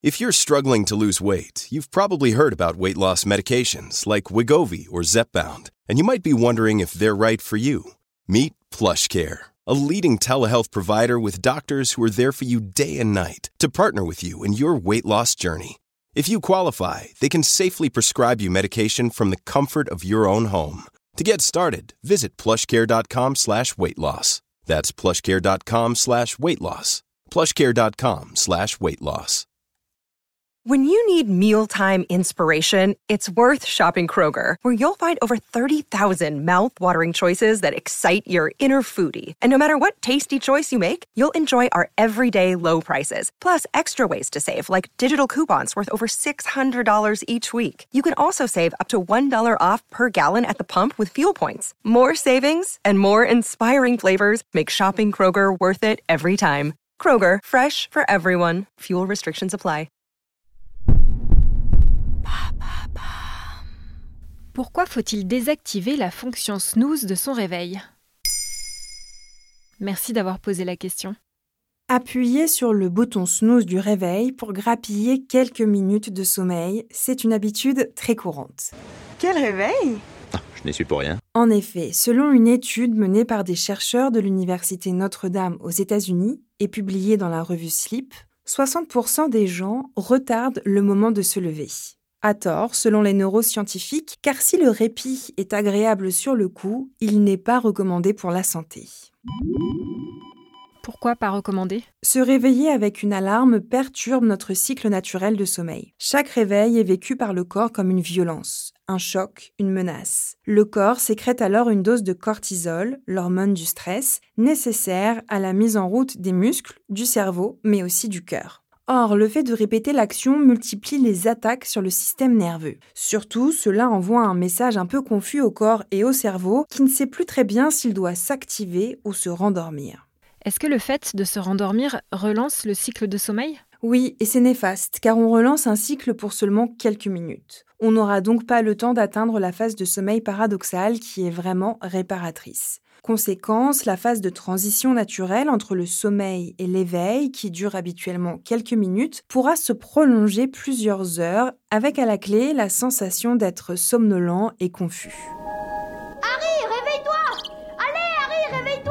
If you're struggling to lose weight, you've probably heard about weight loss medications like Wegovy or Zepbound, and you might be wondering if they're right for you. Meet PlushCare, a leading telehealth provider with doctors who are there for you day and night to partner with you in your weight loss journey. If you qualify, they can safely prescribe you medication from the comfort of your own home. To get started, visit plushcare.com/weightloss. That's plushcare.com/weightloss. plushcare.com/weightloss. When you need mealtime inspiration, it's worth shopping Kroger, where you'll find over 30,000 mouth-watering choices that excite your inner foodie. And no matter what tasty choice you make, you'll enjoy our everyday low prices, plus extra ways to save, like digital coupons worth over $600 each week. You can also save up to $1 off per gallon at the pump with fuel points. More savings and more inspiring flavors make shopping Kroger worth it every time. Kroger, fresh for everyone. Fuel restrictions apply. Pourquoi faut-il désactiver la fonction snooze de son réveil ? Merci d'avoir posé la question. Appuyez sur le bouton snooze du réveil pour grappiller quelques minutes de sommeil. C'est une habitude très courante. Quel réveil ? Je n'y suis pour rien. En effet, selon une étude menée par des chercheurs de l'Université Notre-Dame aux États-Unis et publiée dans la revue Sleep, 60% des gens retardent le moment de se lever. À tort, selon les neuroscientifiques, car si le répit est agréable sur le coup, il n'est pas recommandé pour la santé. Pourquoi pas recommandé ? Se réveiller avec une alarme perturbe notre cycle naturel de sommeil. Chaque réveil est vécu par le corps comme une violence, un choc, une menace. Le corps sécrète alors une dose de cortisol, l'hormone du stress, nécessaire à la mise en route des muscles, du cerveau, mais aussi du cœur. Or, le fait de répéter l'action multiplie les attaques sur le système nerveux. Surtout, cela envoie un message un peu confus au corps et au cerveau qui ne sait plus très bien s'il doit s'activer ou se rendormir. Est-ce que le fait de se rendormir relance le cycle de sommeil ? Oui, et c'est néfaste, car on relance un cycle pour seulement quelques minutes. On n'aura donc pas le temps d'atteindre la phase de sommeil paradoxale qui est vraiment réparatrice. Conséquence, la phase de transition naturelle entre le sommeil et l'éveil, qui dure habituellement quelques minutes, pourra se prolonger plusieurs heures, avec à la clé la sensation d'être somnolent et confus. Harry, réveille-toi ! Allez, Harry, réveille-toi !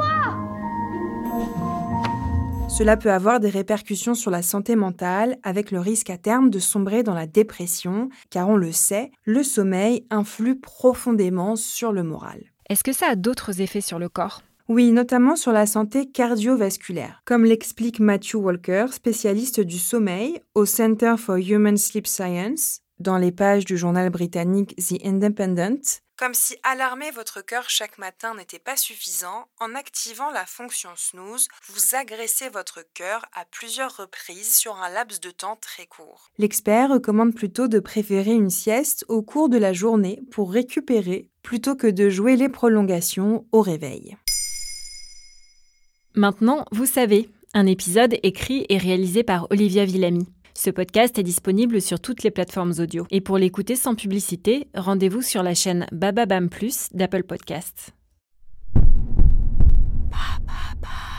Cela peut avoir des répercussions sur la santé mentale, avec le risque à terme de sombrer dans la dépression, car on le sait, le sommeil influe profondément sur le moral. Est-ce que ça a d'autres effets sur le corps ? Oui, notamment sur la santé cardiovasculaire, comme l'explique Matthew Walker, spécialiste du sommeil au Center for Human Sleep Science, dans les pages du journal britannique The Independent. Comme si alarmer votre cœur chaque matin n'était pas suffisant, en activant la fonction snooze, vous agressez votre cœur à plusieurs reprises sur un laps de temps très court. L'expert recommande plutôt de préférer une sieste au cours de la journée pour récupérer, plutôt que de jouer les prolongations au réveil. Maintenant, vous savez, un épisode écrit et réalisé par Olivia Villamy. Ce podcast est disponible sur toutes les plateformes audio. Et pour l'écouter sans publicité, rendez-vous sur la chaîne Bababam Plus d'Apple Podcasts.